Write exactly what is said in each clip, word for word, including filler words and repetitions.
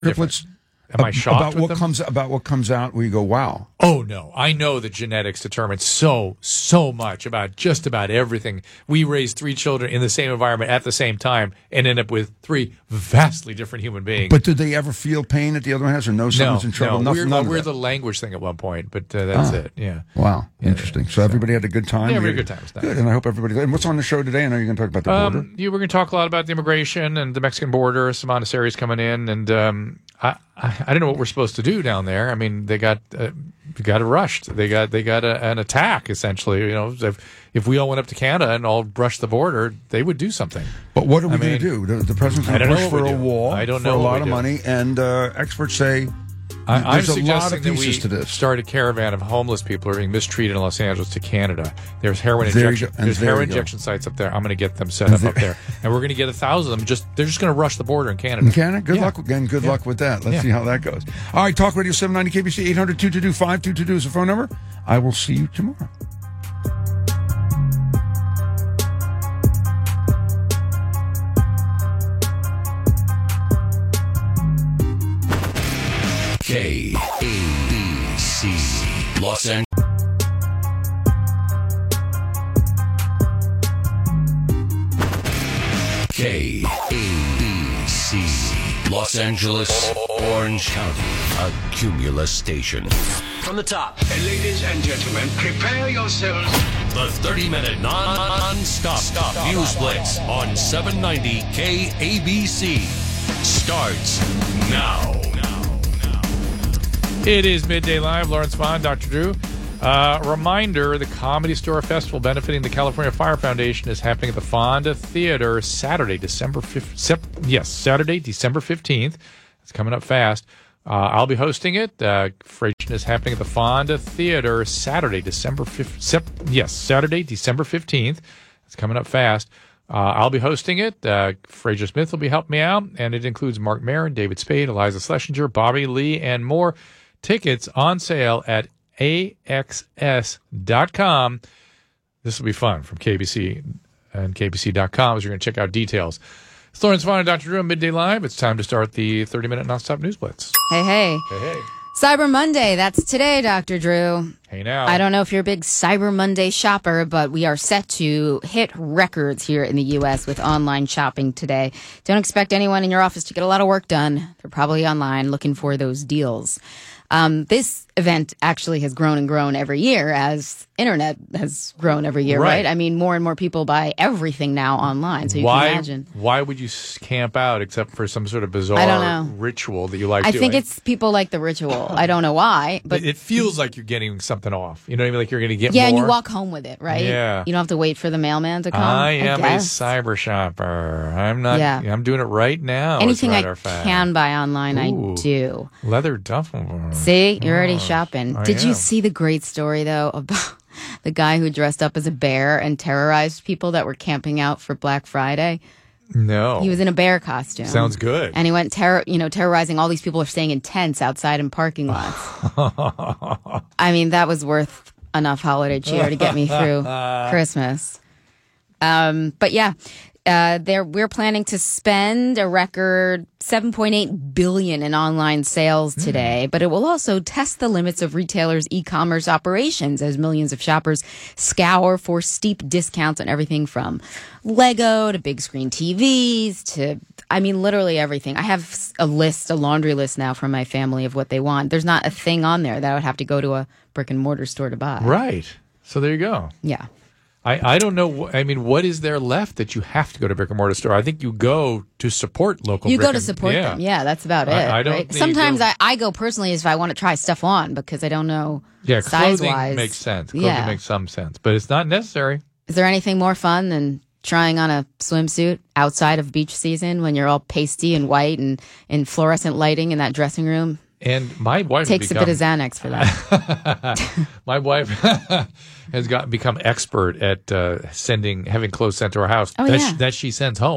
triplets. Different. Am I shocked about with what them? comes about what comes out where you go, wow. Oh, no. I know that genetics determine so, so much about just about everything. We raise three children in the same environment at the same time and end up with three vastly different human beings. But did they ever feel pain that the other one has or know someone's no, in trouble? No, Nothing, we're, none of we're that. the language thing at one point, but uh, that's Oh. it. Yeah. Wow. Yeah, Interesting. yeah. So everybody had a good time? Yeah, we You- had a good time. It was nice. Good, and I hope everybody... And what's on the show today? I know you're going to talk about the border. Um, you were going to talk a lot about the immigration and the Mexican border. Simona Seri's coming in, and um, I, I I don't know what we're supposed to do down there. I mean, they got uh, they got rushed. They got they got a, an attack essentially. You know, if if we all went up to Canada and all brushed the border, they would do something. But what are we I going to mean, do? The, the president's I going to don't know push what for we a do. wall I don't for know a what lot we of do. money, and uh, experts say I, I'm there's a suggesting lot of that pieces we to this. start a caravan of homeless people who are being mistreated in Los Angeles to Canada. There's heroin There you injection. go. And There's there heroin you go. injection sites up there. I'm going to get them set up There- up there, and we're going to get a thousand of them. Just they're just going to rush the border in Canada. In Canada? Good Yeah. luck again. Good Yeah. luck with that. Let's Yeah. see how that goes. All right, Talk Radio seven ninety K B C, eight hundred two two two five two two two is the phone number. I will see you tomorrow. K A B C Los Angeles. K A B C Los Angeles, Orange County, a Cumulus station. From the top, Ladies and gentlemen, prepare yourselves. the thirty-minute non-stop stop news blitz on seven ninety K A B C starts now. It is Midday Live. Lawrence Vaughn, Doctor Drew. Uh, reminder, the Comedy Store Festival benefiting the California Fire Foundation is happening at the Fonda Theater Saturday, December fifth. Sep- yes, Saturday, December fifteenth. It's coming up fast. Uh, I'll be hosting it. Uh, Frasier is happening at the Fonda Theater Saturday, December fifth. Sep- yes, Saturday, December fifteenth. It's coming up fast. Uh, I'll be hosting it. Uh, Fraser Smith will be helping me out, and it includes Mark Maron, David Spade, Eliza Schlesinger, Bobby Lee, and more. Tickets on sale at A X S dot com. This will be fun from K B C and K B C dot com as you're going to check out details. It's Lawrence Vaughn and Doctor Drew on Midday Live. It's time to start the thirty-minute nonstop news blitz. Hey, hey. Hey, hey. Cyber Monday, that's today, Doctor Drew. Hey, now. I don't know if you're a big Cyber Monday shopper, but we are set to hit records here in the U S with online shopping today. Don't expect anyone in your office to get a lot of work done. They're probably online looking for those deals. Um, this event actually has grown and grown every year as internet has grown every year, right? Right. I mean, more and more people buy everything now online, so you why, can imagine. Why would you s- camp out except for some sort of bizarre I don't know. ritual that you like I doing? think it's people like the ritual. I don't know why, but It, it feels like you're getting something off. You know what I mean? Like you're going to get yeah, more. and you walk home with it, right? Yeah. You don't have to wait for the mailman to come. I am a guess. cyber shopper. I'm not. Yeah. I'm doing it right now. as a Anything I matter of fact. can buy online, Ooh. I do. Leather duffel. See, you're already shopping. I Did you am. see the great story though about the guy who dressed up as a bear and terrorized people that were camping out for Black Friday? No. He was in a bear costume. Sounds good. And he went terror, you know, terrorizing all these people who are staying in tents outside in parking lots. I mean, that was worth enough holiday cheer to get me through Christmas. Um, but yeah, uh, there we're planning to spend a record seven point eight billion dollars in online sales today, but it will also test the limits of retailers' e-commerce operations as millions of shoppers scour for steep discounts on everything from Lego to big screen T Vs to, I mean, literally everything. I have a list, a laundry list now from my family of what they want. There's not a thing on there that I would have to go to a brick and mortar store to buy. Right. So there you go. Yeah. I, I don't know. wh- I mean, what is there left that you have to go to brick and mortar store? I think you go to support local. You brick go to and- support yeah. them. Yeah, that's about it. I- I don't right? think you Sometimes go- I, I go personally if I want to try stuff on because I don't know Yeah, size clothing wise. makes sense. Clothing Yeah. makes some sense, but it's not necessary. Is there anything more fun than trying on a swimsuit outside of beach season when you're all pasty and white and in fluorescent lighting in that dressing room? And my wife Takes become, a bit of Xanax for that. My wife has got become expert at uh, sending having clothes sent to our house Oh, that, yeah. she, that she sends home.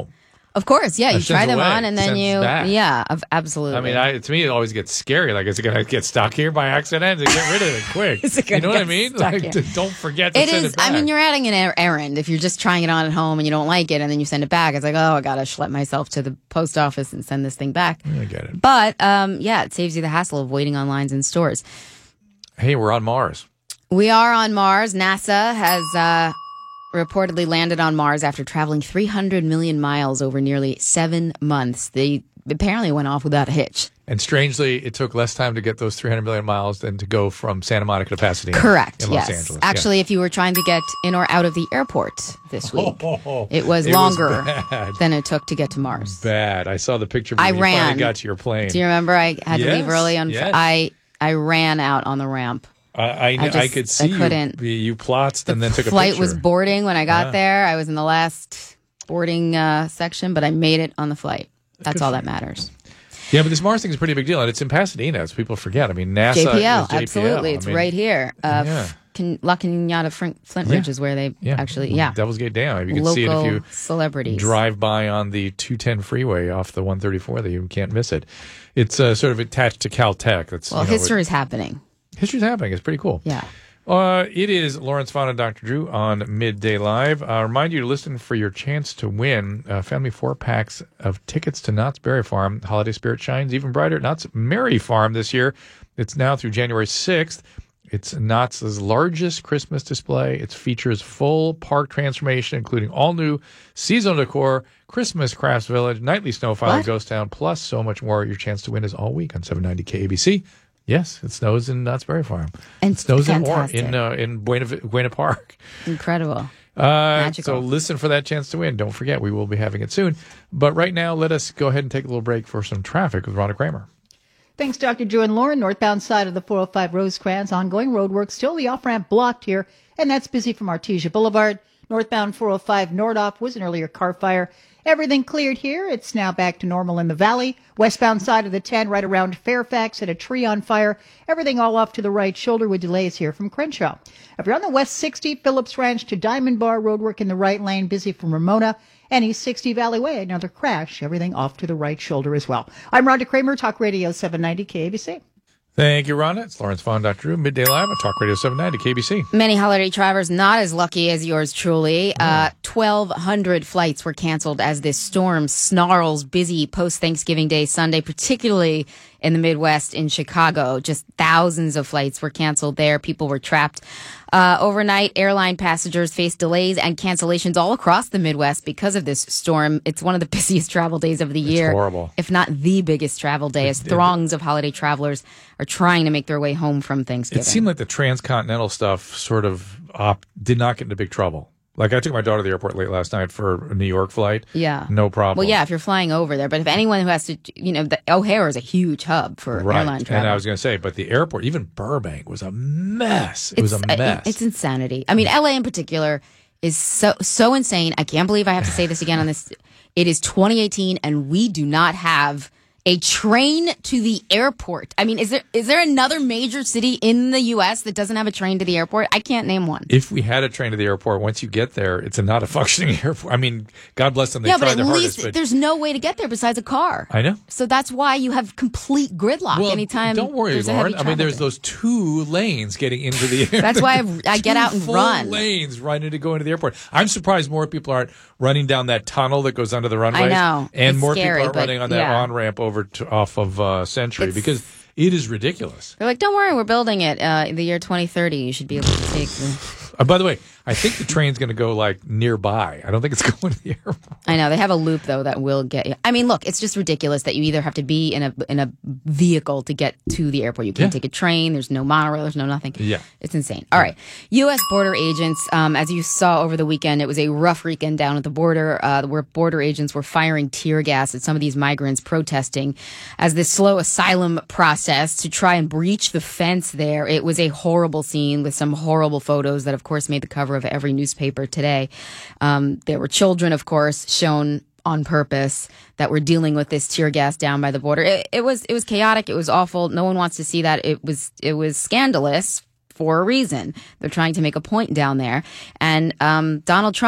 Of course, yeah. You That try sends them away, on and then sends you, back. yeah, of- absolutely. I mean, I, to me, it always gets scary. Like, is it going to get stuck here by accident? Get rid of it quick. Is it You gonna know what I get mean? stuck Like, here? d- don't forget to It send is. it back. I mean, you're adding an er- errand. If you're just trying it on at home and you don't like it, and then you send it back, it's like, oh, I gotta schlep myself to the post office and send this thing back. I get it. But um, yeah, it saves you the hassle of waiting on lines in stores. Hey, we're on Mars. We are on Mars. NASA has uh, reportedly landed on Mars after traveling three hundred million miles over nearly seven months. They apparently went off without a hitch. And strangely, it took less time to get those three hundred million miles than to go from Santa Monica to Pasadena. Correct. In Yes. Los Angeles. Actually, if you were trying to get in or out of the airport this week, Oh, it was it was longer bad. than it took to get to Mars. Bad. I saw the picture of you I when you finally ran. got to your plane. Do you remember I had to leave Yes, early on? yes. I I ran out on the ramp. I, I, I I, just- could I see you, couldn't. you plotzed and then took a Flight picture. was boarding when I got Yeah. there. I was in the last boarding uh, section, but I made it on the flight. That's Good all for that you. matters. Yeah, but this Mars thing is a pretty big deal, and it's in Pasadena, as people forget. I mean, NASA J P L, is J P L. absolutely. I It's mean, right here. Uh, yeah. Can, La Cañada Flint Flint Ridge Yeah. is where they Yeah, actually, yeah. Devil's Gate Dam. You can Local see it if you celebrities. drive by on the two ten freeway off the one thirty-four. That you can't miss it. It's uh, sort of attached to Caltech. That's Well, you know, history is happening. history's happening. It's pretty cool. Yeah. Uh, it is Lawrence Vaughn and Doctor Drew on Midday Live. I uh, remind you to listen for your chance to win uh, family four packs of tickets to Knott's Berry Farm. Holiday spirit shines even brighter at Knott's Merry Farm this year. It's now through January sixth. It's Knott's largest Christmas display. It features full park transformation, including all new seasonal decor, Christmas crafts village, nightly snowfall, What? ghost town, plus so much more. Your chance to win is all week on seven ninety K A B C. Yes, it snows in Knott's Berry Farm. And It snows in, or- fantastic. in uh, in Buena, Buena Park. Incredible. Uh, Magical. so listen for that chance to win. Don't forget, we will be having it soon. But right now, let us go ahead and take a little break for some traffic with Rhonda Kramer. Thanks, Doctor Drew and Lauren. Northbound side of the four oh five Rosecrans. Ongoing road work. Still the off-ramp blocked here, and that's busy from Artesia Boulevard. Northbound four oh five Nordoff was an earlier car fire. Everything cleared here. It's now back to normal in the valley. Westbound side of the ten, right around Fairfax, had a tree on fire. Everything all off to the right shoulder with delays here from Crenshaw. If you're on the West sixty, Phillips Ranch to Diamond Bar, roadwork in the right lane, busy from Ramona. And East sixty Valley Way, another crash. Everything off to the right shoulder as well. I'm Rhonda Kramer, Talk Radio seven ninety K A B C. Thank you, Rhonda. It's Lawrence Vaughn, Doctor Drew, Midday Live on Talk Radio seven ninety K B C. Many holiday travelers not as lucky as yours truly. Uh, twelve hundred flights were canceled as this storm snarls busy post-Thanksgiving Day Sunday, particularly in the Midwest in Chicago. Just thousands of flights were canceled there. People were trapped. Uh, overnight, airline passengers faced delays and cancellations all across the Midwest because of this storm. It's one of the busiest travel days of the year. horrible. If not the biggest travel day, as throngs of holiday travelers are trying to make their way home from Thanksgiving. It seemed like the transcontinental stuff sort of op- did not get into big trouble. Like, I took my daughter to the airport late last night for a New York flight. Yeah. No problem. Well, yeah, if you're flying over there. But if anyone who has to, you know, the O'Hare is a huge hub for Right. airline travel. And I was going to say, but the airport, even Burbank, was a mess. It was a It's- mess. It's insanity. I mean, L A in particular is so so insane. I can't believe I have to say this again on this. It is twenty eighteen, and we do not have a train to the airport. I mean, is there is there another major city in the U S that doesn't have a train to the airport? I can't name one. If we had a train to the airport, once you get there, it's a not a functioning airport. I mean, God bless them. They yeah, tried but their at hardest. least But there's no way to get there besides a car. I know. So that's why you have complete gridlock Well, anytime. don't worry, there's a Lauren. heavy I mean, travel there's day. those two lanes getting into the airport. That's why I- I get Two out and full run. lanes right into go into the airport. I'm surprised more people aren't running down that tunnel that goes under the runway. know. And It's more scary, people aren't but running on that yeah. on ramp over to, off of uh, Century It's- because it is ridiculous. They're like, don't worry, we're building it uh, in the year twenty thirty. You should be able to take the. Uh, by the way, I think the train's going to go like nearby. I don't think it's going to the airport. I know they have a loop though that will get you. I mean, look, it's just ridiculous that you either have to be in a in a vehicle to get to the airport. You can't Yeah. take a train. There's no monorail. There's no nothing. Yeah. It's insane. All right, U S border agents. Um, as you saw over the weekend, it was a rough weekend down at the border, uh, where border agents were firing tear gas at some of these migrants protesting as this slow asylum process to try and breach the fence there. It was a horrible scene with some horrible photos that, of course, made the cover of every newspaper today. Um, there were children, of course, shown on purpose that were dealing with this tear gas down by the border. It, it was it was chaotic. It was awful. No one wants to see that. It was it was scandalous for a reason. They're trying to make a point down there. And um, Donald Trump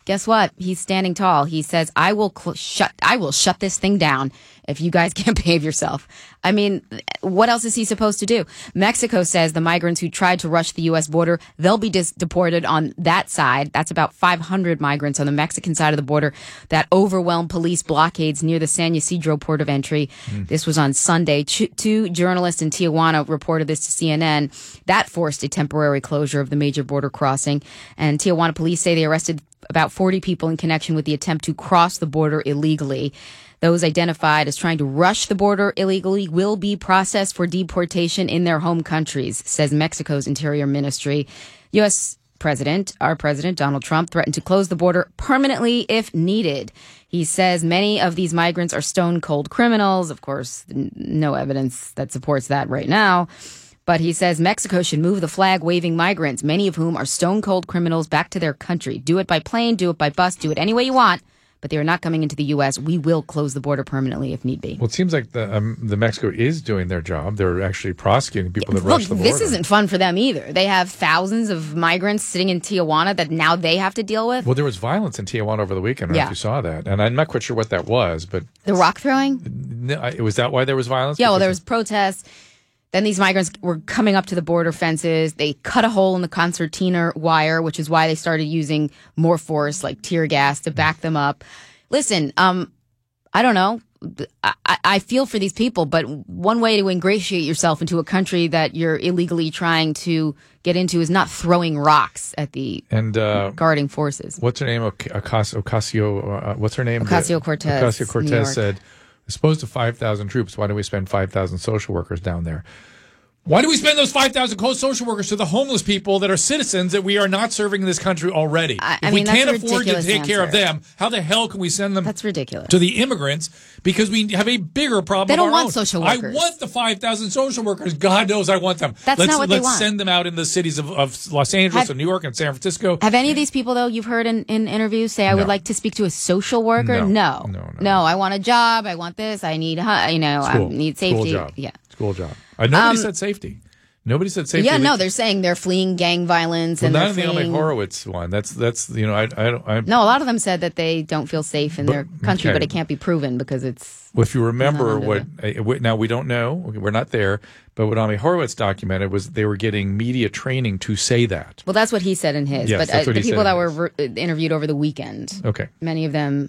guess what? He's standing tall. He says, I will cl- shut I will shut this thing down if you guys can't behave yourself. I mean, what else is he supposed to do? Mexico says the migrants who tried to rush the U S border, they'll be dis- deported on that side. That's about five hundred migrants on the Mexican side of the border that overwhelmed police blockades near the San Ysidro port of entry. Mm. This was on Sunday. Ch- two journalists in Tijuana reported this to C N N. That forced a temporary closure of the major border crossing. And Tijuana police say they arrested about forty people in connection with the attempt to cross the border illegally. Those identified as trying to rush the border illegally will be processed for deportation in their home countries, says Mexico's Interior Ministry. U S President, our President, Donald Trump, threatened to close the border permanently if needed. He says many of these migrants are stone-cold criminals. Of course, n- no evidence that supports that right now. But he says Mexico should move the flag-waving migrants, many of whom are stone-cold criminals, back to their country. Do it by plane, do it by bus, do it any way you want. But they are not coming into the U S. We will close the border permanently if need be. Well, it seems like the um, the Mexico is doing their job. They're actually prosecuting people that Look, rush the border. This isn't fun for them either. They have thousands of migrants sitting in Tijuana that now they have to deal with. Well, there was violence in Tijuana over the weekend. I don't know Yeah. if you saw that. And I'm not quite sure what that was, but... The rock throwing? No, I- was that why there was violence? Yeah, well, Because there was protests. Then these migrants were coming up to the border fences. They cut a hole in the concertina wire, which is why they started using more force, like tear gas, to back them up. Listen, um, I don't know. I, I feel for these people, but one way to ingratiate yourself into a country that you're illegally trying to get into is not throwing rocks at the and, uh, guarding forces. What's her name? Ocasio, Ocasio uh, what's her name? Ocasio-Cortez, Ocasio New Cortez York. said, as opposed to five thousand troops, why don't we spend five thousand social workers down there? Why do we spend those five thousand social workers to the homeless people that are citizens that we are not serving in this country already? I- I if mean, we that's can't a afford to ridiculous take care of answer. them, how the hell can we send them That's ridiculous. to the immigrants? Because we have a bigger problem They of don't our want own. social I workers. want the five thousand social workers. God knows I want them. That's let's, not what they let's want. send them out in the cities of, of Los Angeles Have- and New York and San Francisco. Have any of these people, though, you've heard in, in interviews say, I would No. like to speak to a social worker? No. No. No, no. I want a job. I want this. I need, hu- you know, School. I need safety. School job. Yeah. School job. Uh, nobody Um, said safety. Nobody said safety. Yeah, We- no, they're saying they're fleeing gang violence. Well, and not they're in the Amy fleeing... Horowitz one. That's that's you know I I don't. I, No, a lot of them said that they don't feel safe in But- their country, okay. but it can't be proven because it's. Well, if you remember Not what under uh, we- now we don't know, we're not there, but what Amy Horowitz documented was they were getting media training to say that. Well, that's what he said in his. Yes, but that's uh, what the he people said that in were ver- interviewed over the weekend, Okay. many of them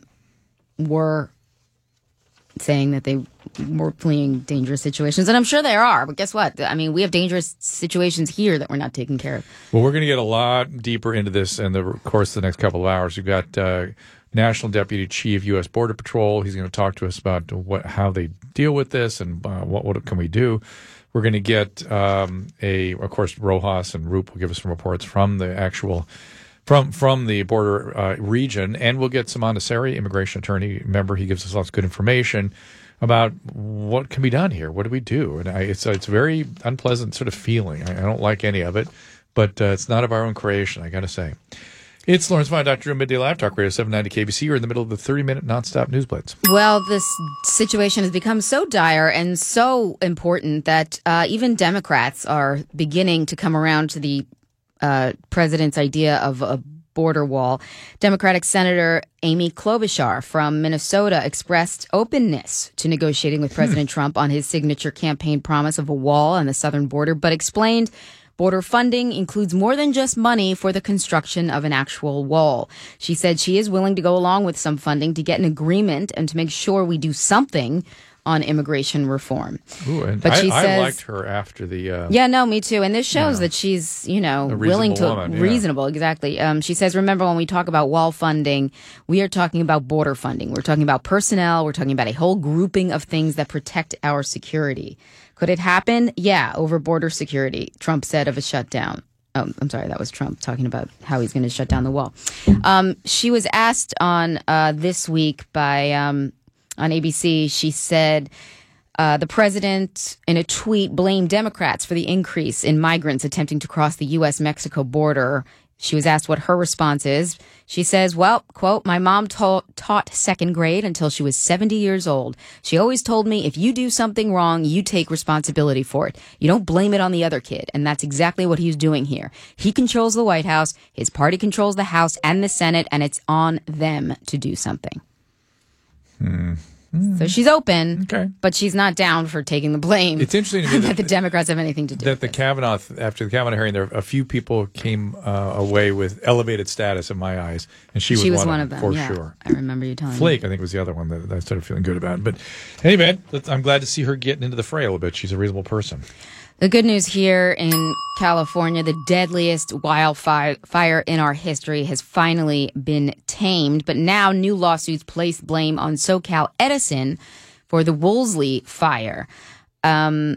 were saying that they were fleeing dangerous situations. And I'm sure there are, but guess what? I mean, we have dangerous situations here that we're not taking care of. Well, we're going to get a lot deeper into this in the course of the next couple of hours. We've got uh, National Deputy Chief U S Border Patrol. He's going to talk to us about what how they deal with this and uh, what what can we do. We're going to get um, a, of course, Rojas and Roop will give us some reports from the actual. From from the border uh, region, and we'll get some Montessori, immigration attorney. Remember, he gives us lots of good information about what can be done here. What do we do? And I, it's it's a very unpleasant sort of feeling. I, I don't like any of it, but uh, it's not of our own creation, I got to say. It's Lawrence Vine, Doctor Drew, Midday Live Talk Radio seven ninety K B C. You're in the middle of the thirty-minute nonstop news blitz. Well, this situation has become so dire and so important that uh, even Democrats are beginning to come around to the Uh, president's idea of a border wall. Democratic Senator Amy Klobuchar from Minnesota expressed openness to negotiating with President Trump on his signature campaign promise of a wall on the southern border, but explained border funding includes more than just money for the construction of an actual wall. She said she is willing to go along with some funding to get an agreement and to make sure we do something on immigration reform. Ooh, and But I, she I says- liked her after the. Uh, Yeah, no, me too. And this shows Yeah. that she's, you know, A willing to reasonable woman, yeah. reasonable, exactly. Um, she says, remember when we talk about wall funding, we are talking about border funding. We're talking about personnel. We're talking about a whole grouping of things that protect our security. Could it happen? Yeah, over border security. Trump said of a shutdown. Oh, I'm sorry, that was Trump talking about how he's going to shut down the wall. Um, she was asked on uh, this week by um, on A B C. She said. Uh, the president, in a tweet, blamed Democrats for the increase in migrants attempting to cross the U S Mexico border. She was asked what her response is. She says, well, quote, my mom ta- taught second grade until she was seventy years old. She always told me if you do something wrong, you take responsibility for it. You don't blame it on the other kid. And that's exactly what he's doing here. He controls the White House. His party controls the House and the Senate, and it's on them to do something. Hmm. So she's open, Okay. but she's not down for taking the blame. It's interesting to me that, that the Democrats have anything to do that with the this. Kavanaugh, after the Kavanaugh hearing, there a few people came uh, away with elevated status in my eyes, and she was, She was one, one of of them, them, for yeah. sure. I remember you telling me. Flake, I think, was the other one that, that I started feeling good about. But anyway, let's- I'm glad to see her getting into the fray a little bit. She's a reasonable person. The good news here in California, the deadliest wildfire in our history has finally been tamed. But now new lawsuits place blame on SoCal Edison for the Woolsey fire. Um,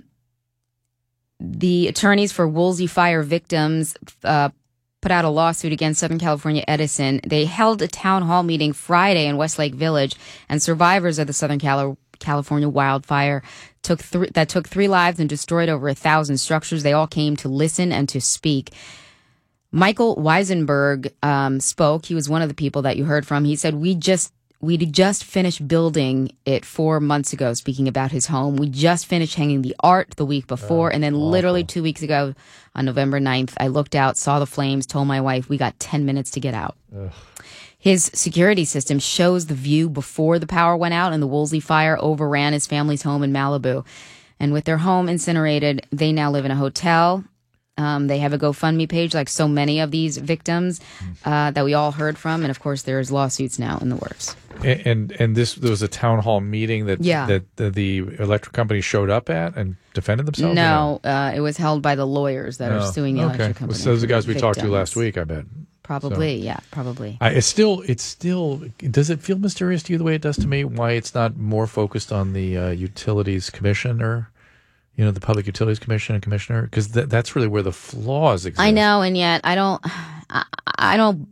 the attorneys for Woolsey fire victims uh, put out a lawsuit against Southern California Edison. They held a town hall meeting Friday in Westlake Village, and survivors of the Southern Cali- California wildfire took th- that took three lives and destroyed over a thousand structures. They all came to listen and to speak. Michael Weisenberg um, spoke. He was one of the people that you heard from. He said, we just we just finished building it four months ago, speaking about his home. We just finished hanging the art the week before. Oh, and then awful. literally two weeks ago on November ninth, I looked out, saw the flames, told my wife, we got ten minutes to get out. Ugh. His security system shows the view before the power went out, and the Woolsey fire overran his family's home in Malibu. And with their home incinerated, they now live in a hotel. Um, they have a GoFundMe page, like so many of these victims uh, that we all heard from. And of course, there's lawsuits now in the works. And and, and this there was a town hall meeting that Yeah. that the, the electric company showed up at and defended themselves. or No, uh, it was held by the lawyers that Oh, are suing the okay. electric company. So those are the for guys we talked to victims. last week, I bet. Probably, yeah, probably. I, it's still, it's still. Does it feel mysterious to you the way it does to me? Why it's not more focused on the uh, utilities commissioner, you know, the Public Utilities Commission and commissioner, because th- that's really where the flaws exist. I know, and yet I don't, I, I don't,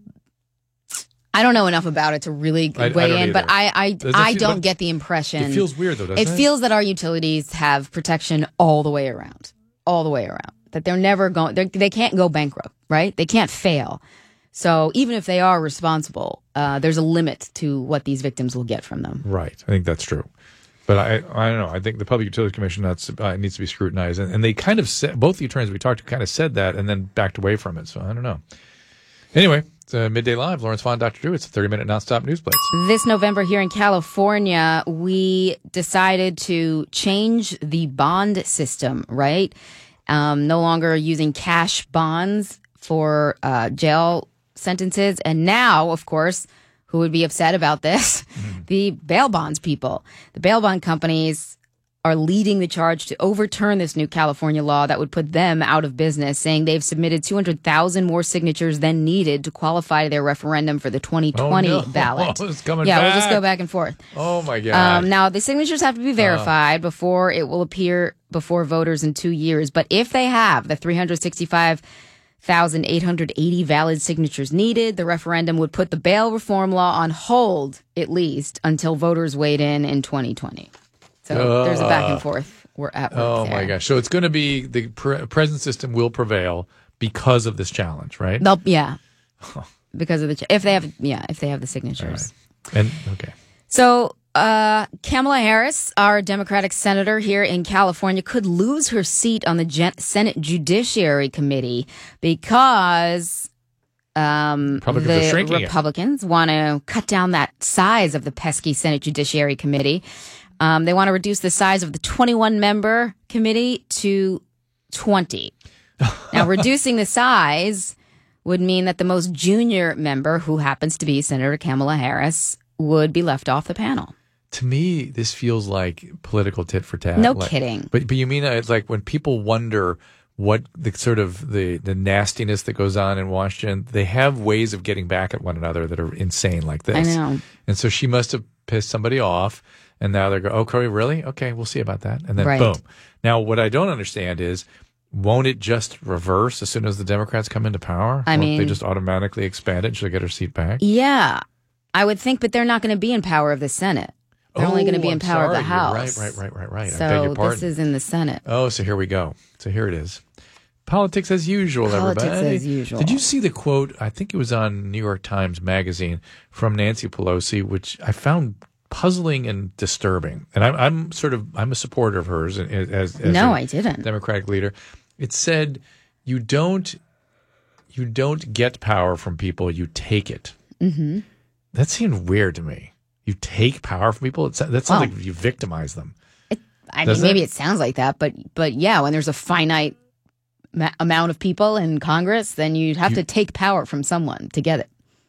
I don't know enough about it to really I- I weigh don't in. But either. I, I, Does it I feel- don't but get the impression. It feels weird though, doesn't It it? feels that our utilities have protection all the way around, all the way around. That they're never going, they're, they can't go bankrupt, right? They can't fail. So even if they are responsible, uh, there's a limit to what these victims will get from them. Right. I think that's true. But I, I don't know. I think the Public Utilities Commission that's, uh, needs to be scrutinized, and, and they kind of said, both the attorneys we talked to kind of said that, and then backed away from it. So I don't know. Anyway, it's uh, Midday Live. Lawrence Vaughn, Doctor Drew. It's a thirty-minute nonstop news blitz. This November here in California, we decided to change the bond system, right? Um, no longer using cash bonds for uh, jail sentences. And now, of course, who would be upset about this? Mm. The bail bonds people. The bail bond companies are leading the charge to overturn this new California law that would put them out of business, saying they've submitted two hundred thousand more signatures than needed to qualify their referendum for the twenty twenty Oh, no. ballot. It's coming yeah, we'll just back. go back and forth. Oh my God. Um, now, the signatures have to be verified before it will appear before voters in two years. But if they have the three hundred sixty-five thousand eight hundred eighty valid signatures needed, the referendum would put the bail reform law on hold, at least, until voters weighed in in twenty twenty. So Uh, there's a back and forth. We're at work oh there. my gosh. So it's going to be the pre- present system will prevail because of this challenge, right? They'll, yeah. Because of the, ch- if they have, yeah, if they have the signatures. And okay. So, uh, Kamala Harris, our Democratic senator here in California, could lose her seat on the Gen- Senate Judiciary Committee because um, Republicans are the shrinking it. Republicans want to cut down that size of the pesky Senate Judiciary Committee. Um, they want to reduce the size of the twenty-one member committee to twenty. Now, reducing the size would mean that the most junior member, who happens to be Senator Kamala Harris, would be left off the panel. To me, this feels like political tit for tat. No Like- kidding. But but you mean uh, it's like when people wonder what the sort of the the nastiness that goes on in Washington, they have ways of getting back at one another that are insane like this. I know. And so she must have pissed somebody off, and now they're going, "Oh, Corey, really? Okay, we'll see about that." And then Right. boom. Now, what I don't understand is, won't it just reverse as soon as the Democrats come into power? I Won't mean- they just automatically expand it and she'll get her seat back? Yeah, I would think, but they're not going to be in power of the Senate. They're only going to be Oh, in I'm power of the sorry. You're House. Right, right, right, right, right. So I beg your pardon. this is in the Senate. Oh, so here we go. So here it is. Politics as usual, Politics everybody. as usual. Did you see the quote? I think it was on New York Times Magazine from Nancy Pelosi, which I found puzzling and disturbing. And I'm, I'm sort of I'm a supporter of hers as, as no, a I didn't. Democratic leader. It said, "You don't you don't get power from people; you take it." Mm-hmm. That seemed weird to me. You take power from people. It's, that sounds Well, like you victimize them. It, I Does mean, maybe it? it sounds like that, but but yeah, when there's a finite ma- amount of people in Congress, then you have You- to take power from someone to get it.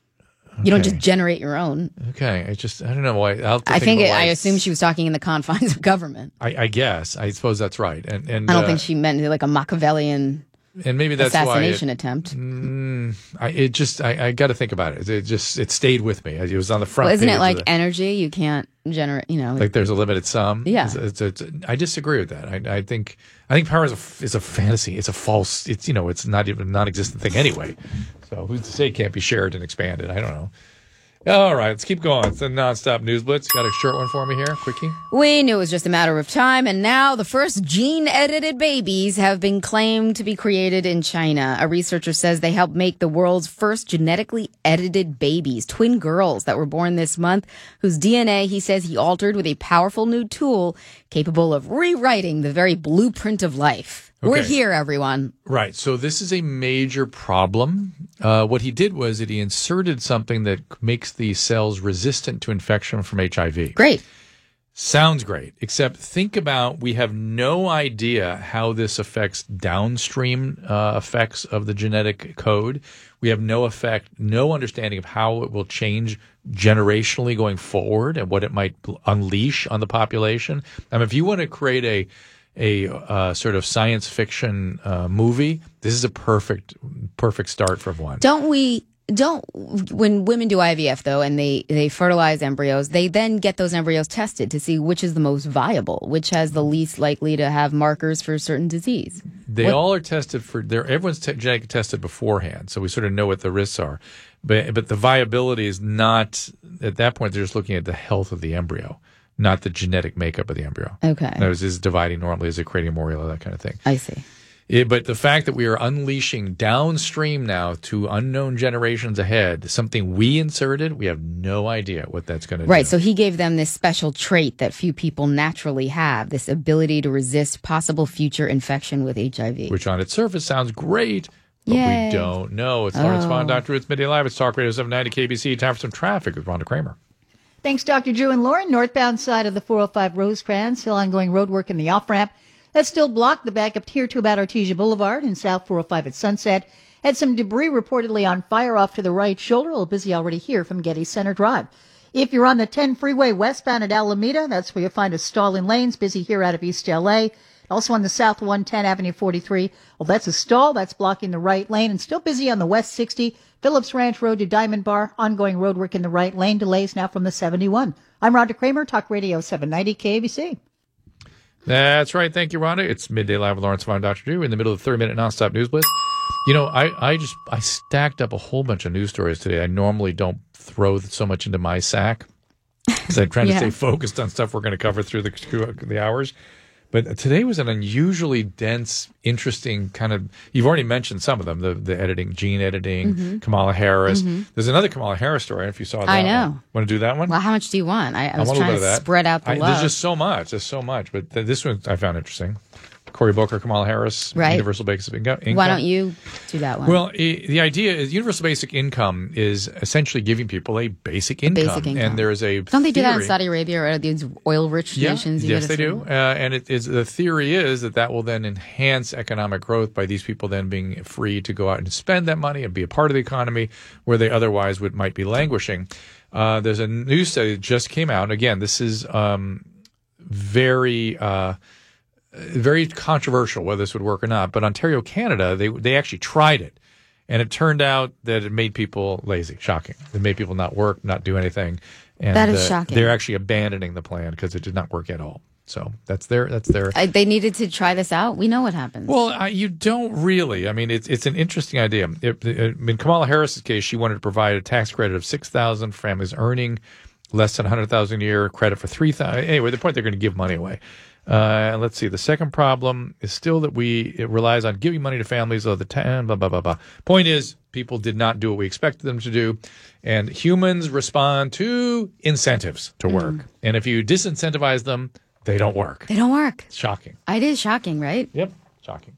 You don't Okay. just generate your own. Okay, I just I don't know why. I'll have to I think about it, why I it's- assume she was talking in the confines of government. I, I guess I suppose that's right, and and I don't uh, think she meant like a Machiavellian and maybe that's assassination why it, attempt. I, it just I, I got to think about it. It just it stayed with me. It was on the front. Well, isn't page it of like the- energy? You can't generate. You know, like there's a limited sum? Yeah. It's, it's, it's, I disagree with that. I, I think I think power is a is a fantasy. It's a false. It's you know it's not even a non-existent thing anyway. So who's to say it can't be shared and expanded? I don't know. All right, let's keep going. It's a nonstop news blitz. Got a short one for me here, quickie. we knew it was just a matter of time, and now the first gene-edited babies have been claimed to be created in China. A researcher says they helped make the world's first genetically edited babies, twin girls that were born this month, whose D N A, he says, he altered with a powerful new tool capable of rewriting the very blueprint of life. We're Okay. here, everyone. Right. So this is a major problem. Uh, what he did was that he inserted something that makes the cells resistant to infection from H I V. Great. Sounds great, except think about we have no idea how this affects downstream uh, effects of the genetic code. We have no effect, no understanding of how it will change generationally going forward and what it might unleash on the population. I mean, if you want to create a a uh, sort of science fiction uh, movie, this is a perfect perfect start for one. Don't we, don't, when women do I V F though, and they, they fertilize embryos, they then get those embryos tested to see which is the most viable, which has the least likely to have markers for a certain disease. They What- all are tested for. They're, everyone's te- genetically tested beforehand, so we sort of know what the risks are. But but the viability is not at that point. They're just looking at the health of the embryo, not the genetic makeup of the embryo. Okay. That is, is it dividing normally? Is it creating morula? That kind of thing. I see. It, but the fact that we are unleashing downstream now to unknown generations ahead, something we inserted, we have no idea what that's going to do. Right. So he gave them this special trait that few people naturally have, this ability to resist possible future infection with H I V. Which on its surface sounds great, but Yay. we don't know. It's Lawrence Oh. Vaughn, Doctor Ruth's Midday Live. It's Talk Radio seven ninety K B C. Time for some traffic with Rhonda Kramer. Thanks, Doctor Drew and Lauren. Northbound side of the four oh five Rosecrans, still ongoing road work in the off-ramp. That's still blocked. The backup here to about Artesia Boulevard and South four oh five at Sunset. Had some debris reportedly on fire off to the right shoulder. A little busy already here from Getty Center Drive. If you're on the ten freeway westbound at Alameda, that's where you'll find a stall in lanes. Busy here out of East L A. Also on the South one ten Avenue forty-three. Well, that's a stall. That's blocking the right lane. And still busy on the West sixty. Phillips Ranch Road to Diamond Bar. Ongoing road work in the right lane. Delays now from the seventy-one. I'm Rhonda Kramer, Talk Radio seven ninety K A B C. That's right. Thank you, Rhonda. It's Midday Live with Lawrence Vaughn, Doctor Drew, in the middle of the thirty-minute nonstop news blitz. You know, I, I just I stacked up a whole bunch of news stories today. I normally don't throw so much into my sack because I'm trying Yeah. to stay focused on stuff we're going to cover through the through the hours. But today was an unusually dense, interesting kind of. You've already mentioned some of them: the the editing, gene editing, Mm-hmm. Kamala Harris. There's another Kamala Harris story. I don't know if you saw that. I know. One. Want to do that one? Well, how much do you want? I, I was want a trying little to bit of that. spread out the I, love. There's just so much. There's so much. But th- this one I found interesting. Cory Booker, Kamala Harris, Right. Universal Basic Income. Why don't you do that one? Well, i the idea is universal basic income is essentially giving people a basic income. basic income. And there is a Don't they do that in theory- Saudi Arabia or these oil-rich Yeah, nations? You yes, gotta they say? do. Uh, and it is the theory is that that will then enhance economic growth by these people then being free to go out and spend that money and be a part of the economy where they otherwise would might be languishing. Uh, there's a new study that just came out. Again, this is um, very. Uh, very controversial whether this would work or not. But Ontario, Canada, they they actually tried it, and it turned out that it made people lazy. Shocking. It made people not work, not do anything. And That is uh, shocking. They're actually abandoning the plan because it did not work at all. So that's their that's their. I, they needed to try this out. We know what happens. Well, I, you don't really. I mean, it's it's an interesting idea. It, it, in Kamala Harris's case, she wanted to provide a tax credit of six thousand for families earning less than one hundred thousand a year, credit for three thousand. Anyway, the point they're going to give money away. Uh, let's see. The second problem is still that we it relies on giving money to families all the time. Blah blah blah blah. Point is, people did not do what we expected them to do, and humans respond to incentives to work. Mm. And if you disincentivize them, they don't work. They don't work. It's shocking. It is shocking, right? Yep, shocking.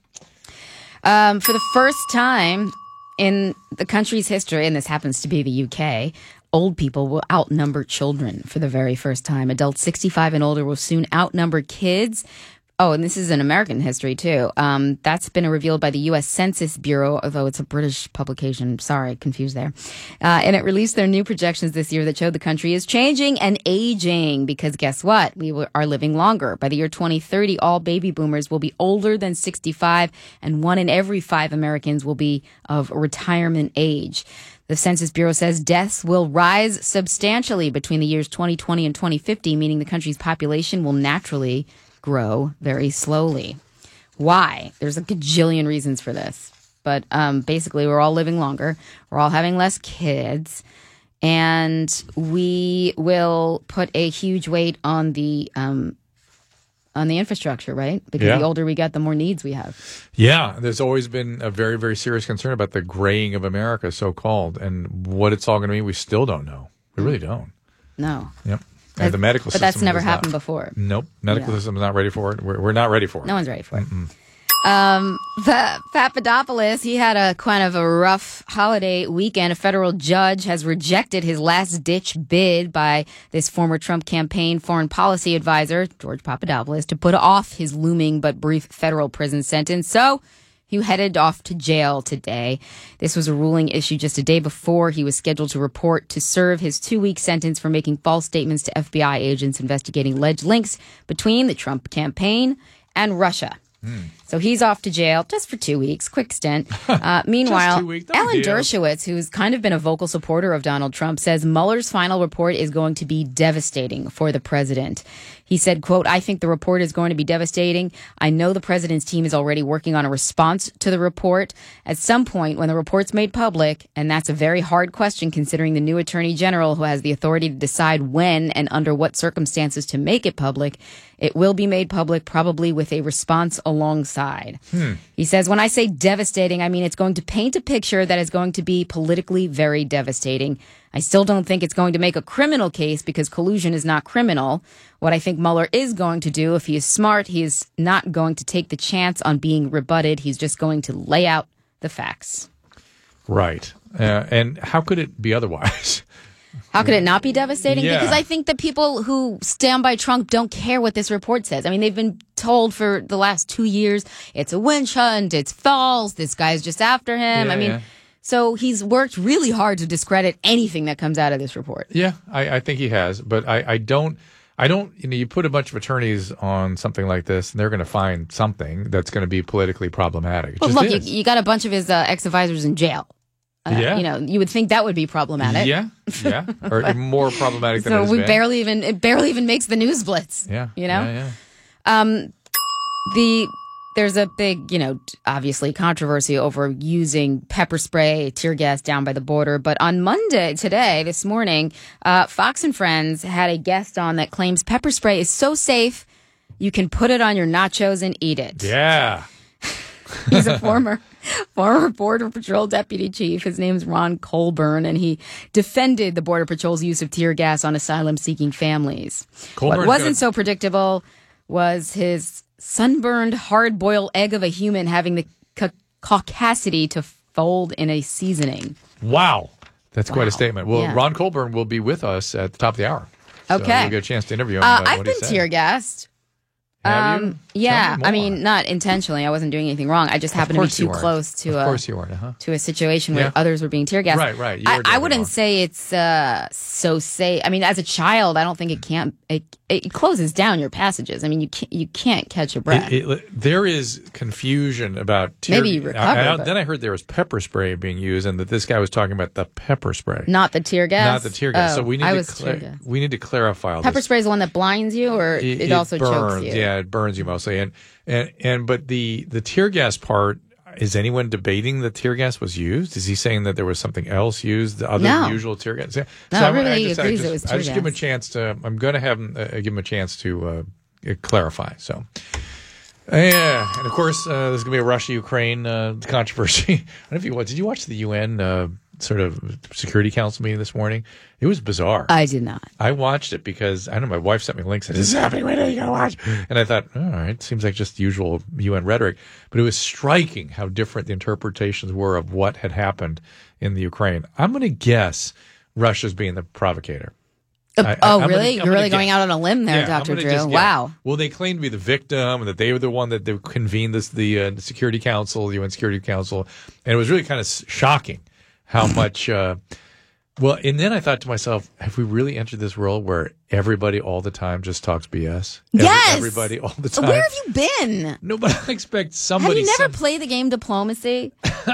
Um, for the first time in the country's history, and this happens to be the U K, old people will outnumber children for the very first time. Adults sixty-five and older will soon outnumber kids. Oh, and this is in American history, too. Um, that's been revealed by the U S Census Bureau, although it's a British publication. Sorry, confused there. Uh, and it released their new projections this year that showed the country is changing and aging because guess what? We are living longer. By the year twenty thirty, all baby boomers will be older than sixty-five, and one in every five Americans will be of retirement age. The Census Bureau says deaths will rise substantially between the years twenty twenty and twenty fifty, meaning the country's population will naturally grow very slowly. Why? There's a gajillion reasons for this. But um, basically, we're all living longer. We're all having less kids. And we will put a huge weight on the um, on the infrastructure, right? Because yeah. the older we get, the more needs we have. Yeah, there's always been a very, very serious concern about the graying of America, so-called. And what it's all going to mean, we still don't know. We really don't. No. Yep. And the medical but system that's never not, happened before. Nope. Medical yeah. system is not ready for it. We're, we're not ready for it. No one's ready for it. Mm-mm. Um, the Papadopoulos, he had a kind of a rough holiday weekend. A federal judge has rejected his last-ditch bid by this former Trump campaign foreign policy advisor, George Papadopoulos, to put off his looming but brief federal prison sentence. So he headed off to jail today. This was a ruling issued just a day before he was scheduled to report to serve his two-week sentence for making false statements to F B I agents investigating alleged links between the Trump campaign and Russia. Mm. So he's off to jail just for two weeks, quick stint. Uh, meanwhile, weeks, no Alan deal. Dershowitz, who's kind of been a vocal supporter of Donald Trump, says Mueller's final report is going to be devastating for the president. He said, quote, I think the report is going to be devastating. I know the president's team is already working on a response to the report. At some point, when the report's made public, and that's a very hard question considering the new attorney general who has the authority to decide when and under what circumstances to make it public, it will be made public probably with a response alongside. Hmm. He says, when I say devastating, I mean it's going to paint a picture that is going to be politically very devastating. I still don't think it's going to make a criminal case because collusion is not criminal. What I think Mueller is going to do, if he is smart, he is not going to take the chance on being rebutted. He's just going to lay out the facts. Right. Uh, and how could it be otherwise? How could it not be devastating? Yeah. Because I think the people who stand by Trump don't care what this report says. I mean, they've been told for the last two years, it's a witch hunt, it's false, this guy's just after him. Yeah, I mean, yeah. So he's worked really hard to discredit anything that comes out of this report. Yeah, I, I think he has. But I, I don't, I don't, you know, you put a bunch of attorneys on something like this and they're going to find something that's going to be politically problematic. It Well, just look, you, is. you got a bunch of his uh, ex-advisors in jail. Uh, Yeah. You know, you would think that would be problematic. Yeah, yeah. Or more problematic than it So has we been. barely even, it barely even makes the news blitz. Yeah. You know? Yeah, yeah. Um, the there's a big, you know, obviously controversy over using pepper spray, tear gas down by the border. But on Monday, today, this morning, uh, Fox and Friends had a guest on that claims pepper spray is so safe you can put it on your nachos and eat it. Yeah. He's a former former Border Patrol deputy chief. His name's Ron Colburn, and he defended the Border Patrol's use of tear gas on asylum-seeking families. Colburn's What wasn't got- so predictable was his sunburned, hard-boiled egg of a human having the ca- caucasity to fold in a seasoning. Wow. That's quite Wow. a statement. Well, Yeah. Ron Colburn will be with us at the top of the hour. So Okay. we'll get a chance to interview him. Uh, about I've what he been said. tear gassed. Have you? Um, yeah, Tell me I more. mean, not intentionally. I wasn't doing anything wrong. I just happened to be course you too weren't. close to Of a course you weren't, huh? to a situation where Yeah. others were being tear gassed. Right, right. You I, were I definitely wouldn't wrong. say it's uh, so safe. I mean, as a child, I don't think it can't. It, it closes down your passages. I mean, you can't you can't catch your breath. It, it, there is confusion about tear, Maybe you recover, I- I- but- then I heard there was pepper spray being used, and that this guy was talking about the pepper spray, Not the tear gas. not the tear gas. Oh, so we need I to was cla- tear gas. we need to clarify all Pepper this. spray is the one that blinds you, or it, also burns. chokes you. Yeah, it burns you mostly, and and and but the the tear gas part. Is anyone debating that tear gas was used? Is he saying that there was something else used other No. than usual tear gas? Yeah. No, I'm- everybody I just, I agrees just, it was I tear just give him a gas. chance to. I'm going to have him uh, give him a chance to uh, uh, clarify. So, uh, yeah, and of course, uh, there's going to be a Russia-Ukraine uh, controversy. I don't know if you did you watch the U N uh, sort of Security Council meeting this morning? It was bizarre. I did not. I watched it because, I don't know, my wife sent me links and said, this is happening right now, you got to watch. And I thought, all right, seems like just the usual U N rhetoric. But it was striking how different the interpretations were of what had happened in the Ukraine. I'm going to guess Russia's being the provocator. Uh, I, oh, I, really? gonna, You're really guess. going out on a limb there, Yeah, Doctor Drew. Just, yeah. Wow. Well, they claim to be the victim and that they were the one that they convened this, the uh, Security Council, the U N Security Council. And it was really kind of shocking how much... Uh, well, and then I thought to myself, have we really entered this world where everybody all the time just talks B S? Every, Yes. Everybody all the time. Where have you been? Nobody expects Have somebody... you never some- played the game diplomacy?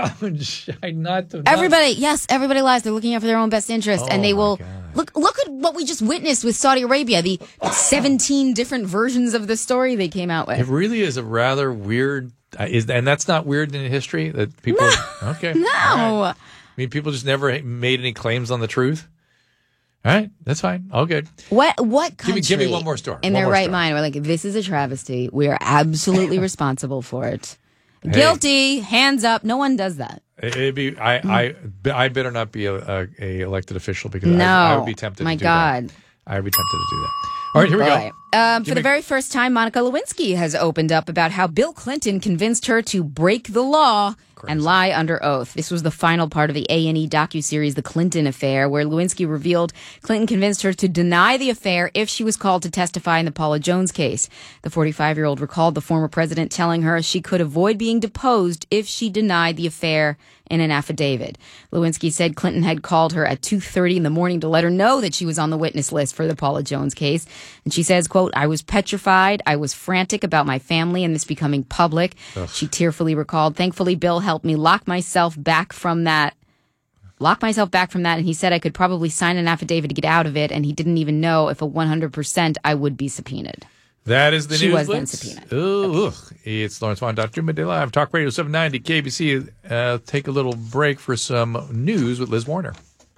I not to, Everybody, yes, everybody lies. They're looking out for their own best interest, Oh, and they my will God. look. Look at what we just witnessed with Saudi Arabia. The seventeen different versions of the story they came out It with. really is a rather weird... Uh, is and that's not weird in history? That people... Okay. No, All right. I mean, people just never made any claims on the truth? All right, that's fine. All good. what what Give me- country give me one more story. in One their more right story. mind? We're like, this is a travesty. We are absolutely responsible for it. Guilty, hands up. No one does that. It- It'd be I I I better not be a, a, a elected official because No, I, I would be tempted. my to do God. that. I would be tempted to do that. All right, here we Boy. go. Um, for Give the me- very first time, Monica Lewinsky has opened up about how Bill Clinton convinced her to break the law and lie under oath. This was the final part of the A and E docuseries, The Clinton Affair, where Lewinsky revealed Clinton convinced her to deny the affair if she was called to testify in the Paula Jones case. The forty-five-year-old recalled the former president telling her she could avoid being deposed if she denied the affair in an affidavit. Lewinsky said Clinton had called her at two thirty in the morning to let her know that she was on the witness list for the Paula Jones case. And she says, quote, I was petrified. I was frantic about my family and this becoming public. Ugh. She tearfully recalled, thankfully, Bill helped me lock myself back from that. Lock myself back from that. And he said I could probably sign an affidavit to get out of it. And he didn't even know if a one hundred percent I would be subpoenaed. That is the She news. was then Blitz. subpoenaed. Ooh, ugh. It's Lawrence Vaughn, Doctor Midday Live, Talk Radio seven ninety K B C. Uh, take a little break for some news with Liz Warner.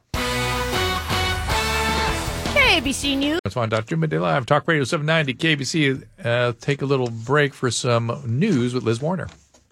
K B C News. Lawrence Vaughn, Doctor Midday Live, Talk Radio seven ninety K B C. Uh, take a little break for some news with Liz Warner.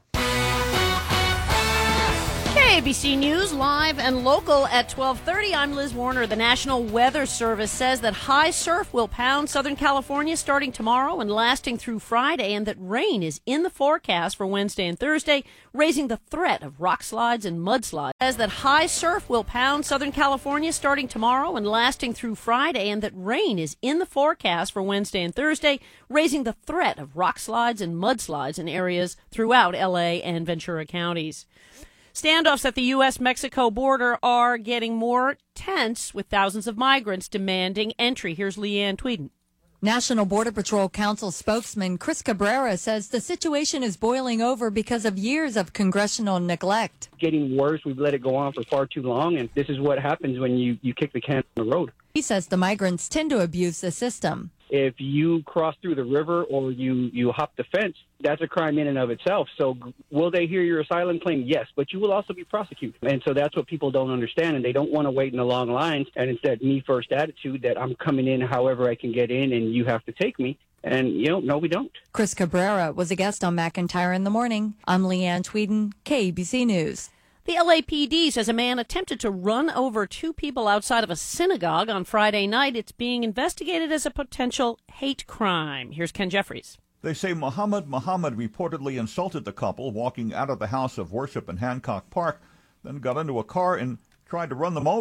K B C News, live and local at twelve thirty. I'm Liz Warner. The National Weather Service says that high surf will pound Southern California starting tomorrow and lasting through Friday, and that rain is in the forecast for Wednesday and Thursday, raising the threat of rock slides and mudslides. Says that high surf will pound Southern California starting tomorrow and lasting through Friday, and that rain is in the forecast for Wednesday and Thursday, raising the threat of rock slides and mudslides in areas throughout L A and Ventura counties. Standoffs at the U S Mexico border are getting more tense, with thousands of migrants demanding entry. Here's Leanne Tweeden. National Border Patrol Council spokesman Chris Cabrera says the situation is boiling over because of years of congressional neglect. Getting worse. We've let it go on for far too long, and this is what happens when you, you kick the can on the road. He says the migrants tend to abuse the system. If you cross through the river or you, you hop the fence, that's a crime in and of itself. So will they hear your asylum claim? Yes, but you will also be prosecuted. And so that's what people don't understand, and they don't want to wait in the long lines. And it's that me-first attitude that I'm coming in however I can get in and you have to take me. And, you know, no, we don't. Chris Cabrera was a guest on McIntyre in the Morning. I'm Leanne Tweeden, K B C News. The L A P D says a man attempted to run over two people outside of a synagogue on Friday night. It's being investigated as a potential hate crime. Here's Ken Jeffries. They say Muhammad Muhammad reportedly insulted the couple walking out of the house of worship in Hancock Park, then got into a car and tried to run them over.